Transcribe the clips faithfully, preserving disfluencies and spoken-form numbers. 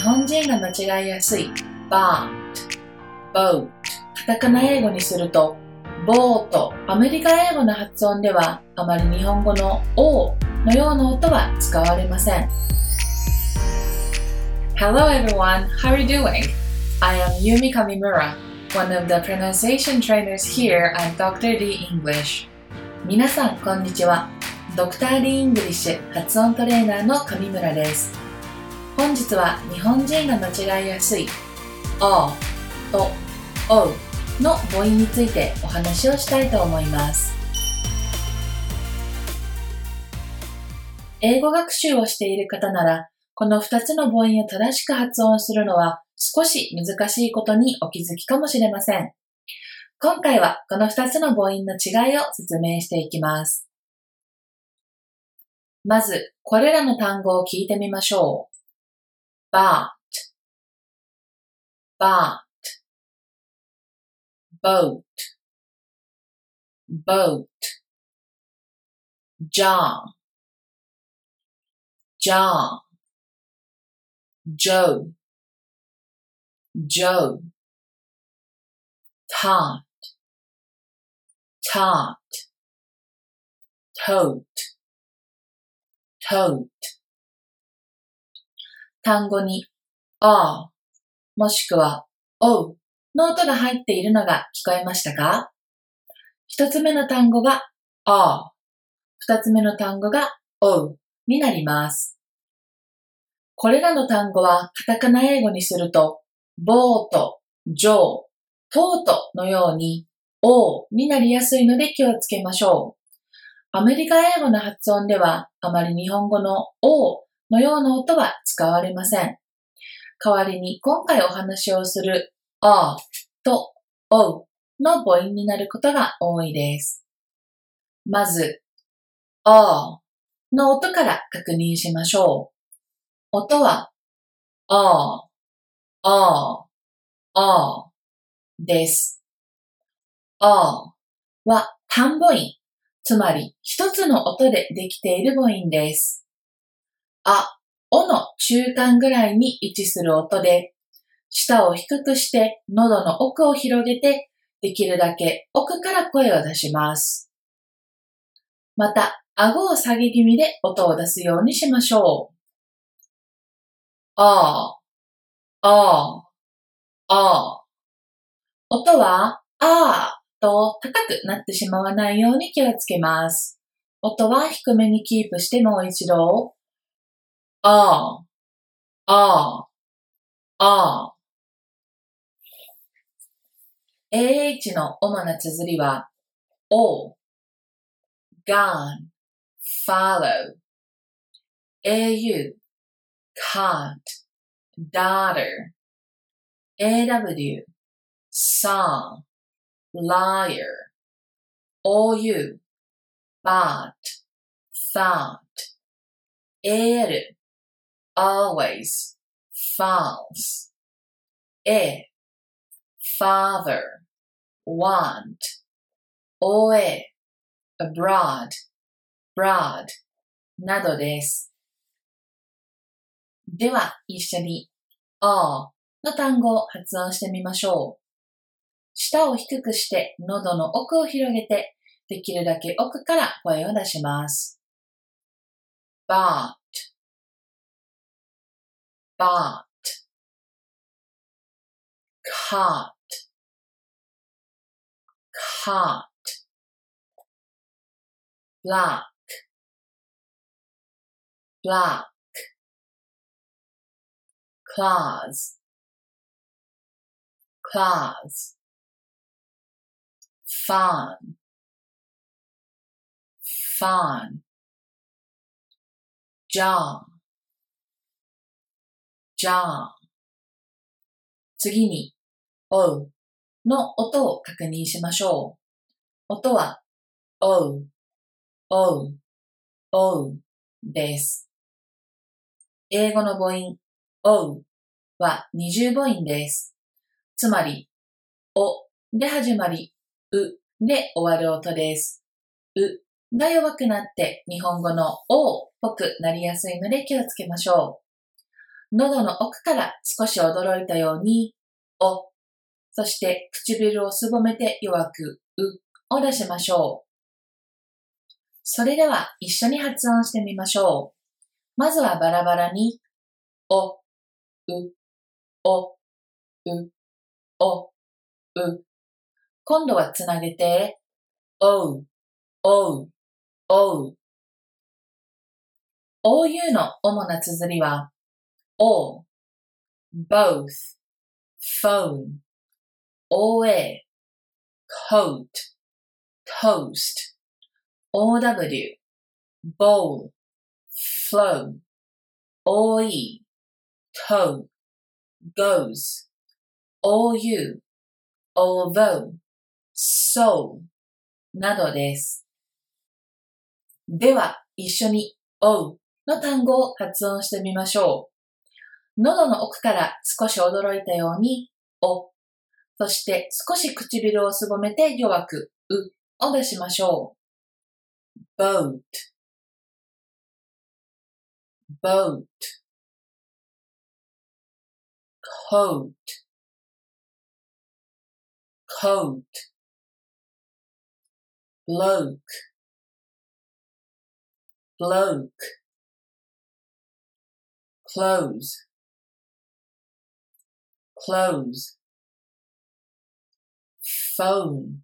本人が間違いやすい boat, boat カタカナ英語にするとボート。アメリカ英語の発音ではあまり日本語の O のような音は使われません。Hello everyone, how are you doing? I am Yumi Kamimura, one of the pronunciation trainers here at ドクター D English. 皆さん、こんにちは。ドクター D English 発音トレーナーの上村です。本日は日本人が間違いやすい O と O の母音についてお話をしたいと思います。英語学習をしている方なら、このふたつの母音を正しく発音するのは少し難しいことにお気づきかもしれません。今回はこのふたつの母音の違いを説明していきます。まず、これらの単語を聞いてみましょう。bat, bat, boat, boat, jaw, jaw, Joe, Joe, taught, taught, tote, tote 単語に あ もしくは おの音が入っているのが聞こえましたか？一つ目の単語が あ、二つ目の単語が おになります。これらの単語はカタカナ英語にすると、ボート、ジョー、トートのように O になりやすいので気をつけましょう。アメリカ英語の発音ではあまり日本語の O のような音は使われません。代わりに今回お話をする A と O の母音になることが多いです。まず、A の音から確認しましょう。音は、あー、あー、あーです。あーは単母音、つまり一つの音でできている母音です。あ、おの中間ぐらいに位置する音で、舌を低くして喉の奥を広げて、できるだけ奥から声を出します。また、顎を下げ気味で音を出すようにしましょう。あー、あー、あー。音は、あーと高くなってしまわないように気をつけます。音は低めにキープしてもう一度、あー、あー、あー。エーエイチ の主な綴りは、O, gone, follow, エーユー, caught, daughter, エーダブリュー, saw, liar, オーユー, bought, thought, エーエル, always, false, A, father, want, オーエー, abroad, broad などです。では、一緒に あの単語を発音してみましょう。舌を低くして喉の奥を広げて、できるだけ奥から声を出します。bought, bought, caught, caught, black, black, claws, claws, fawn, fawn, jaw, jaw 次に O の音を確認しましょう。音は O, O, O です。英語の母音 O は二重母音です。つまり、おで始まり、うで終わる音です。うが弱くなって日本語のおっぽくなりやすいので気をつけましょう。 喉の奥から少し驚いたように、お、そして唇をすぼめて弱く、うを出しましょう。それでは一緒に発音してみましょう。まずはバラバラに、お、う、お、う、お、う。今度はつなげて、おう、おう、おう。オーユー の主な綴りは、all, both, phone,オーエー, coat, toast, オーダブリュー, bowl, flow, オーイー, toe, goes, オーユー, although, so などです。では、一緒に O の単語を発音してみましょう。喉の奥から少し驚いたように、お、そして少し唇をすぼめて弱く、うを出しましょう。boat, boat, coat, coat, bloke, bloke, close, close, phone,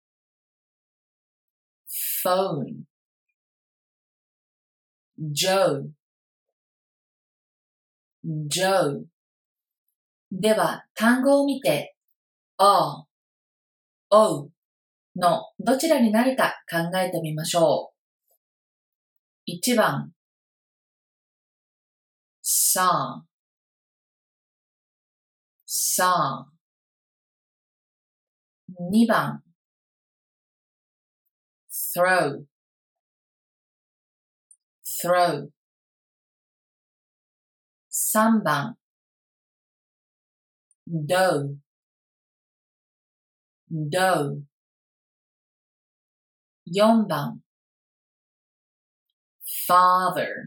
phone, Joe, Joe。では、単語を見て、あ、おのどちらになるか考えてみましょう。いちばん、saw, saw。にばん、throw, throw。さんばん、dough, dough。よんばん、father,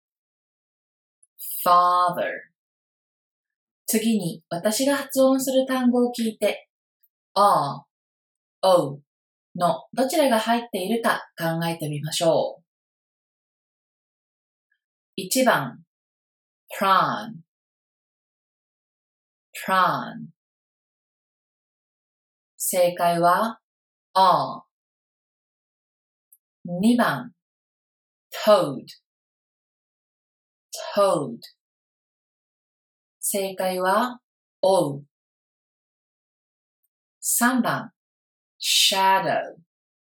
father。次に私が発音する単語を聞いて、あ、おのどちらが入っているか考えてみましょう。いちばん、prawn, prawn。正解は、あ。にばん、toad, toad。正解は、お。さんばん、shadow,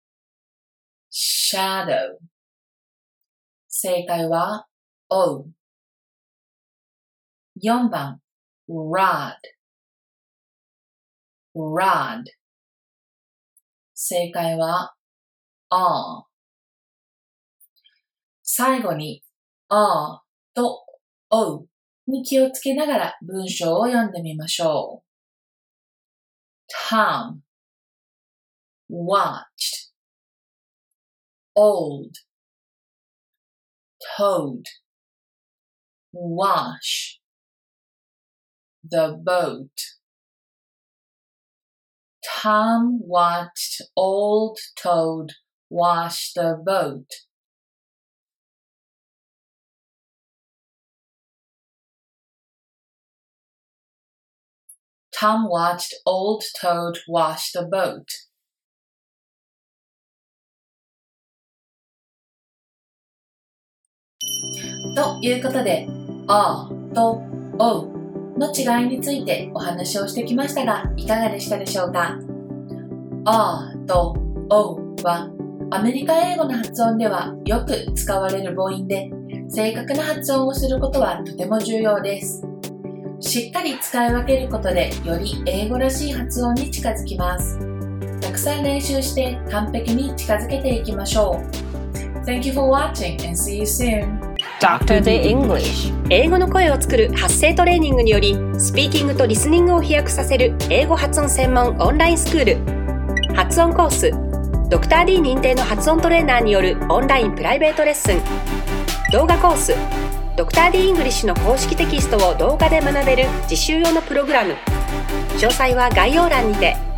shadow。正解は、お。よんばん、rod, rod。正解は、あ。最後に、あとおに気をつけながら文章を読んでみましょう。Tom watched, old, toad, wash, the boat. Tom watched old toad wash the boat. Tom watched old toad wash the boat. ということで、あとおの違いについてお話をしてきましたが、いかがでしたでしょうか。あとおはアメリカ英語の発音ではよく使われる母音で、正確な発音をすることはとても重要です。しっかり使い分けることでより英語らしい発音に近づきます。たくさん練習して完璧に近づけていきましょう。Thank you for watching and see you soon. ドクター The English。 英語の声を作る発声トレーニングによりスピーキングとリスニングを飛躍させる英語発音専門オンラインスクール。発音コース、ドクター D 認定の発音トレーナーによるオンラインプライベートレッスン。動画コース、 ドクター D イングリッシュの公式テキストを動画で学べる実習用のプログラム。詳細は概要欄にて。